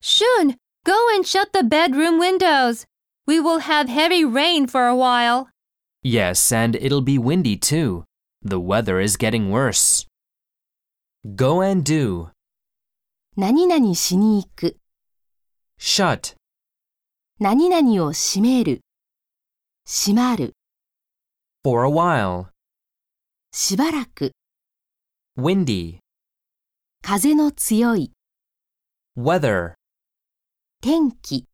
Shun, go and shut the bedroom windows. We will have heavy rain for a while. Yes, and it'll be windy too. The weather is getting worse. Go and do. 何々しに行く。 Shut. 何々を閉める。閉まる。 For a while. しばらく。 Windy. 風の強い。 Weather. 天気。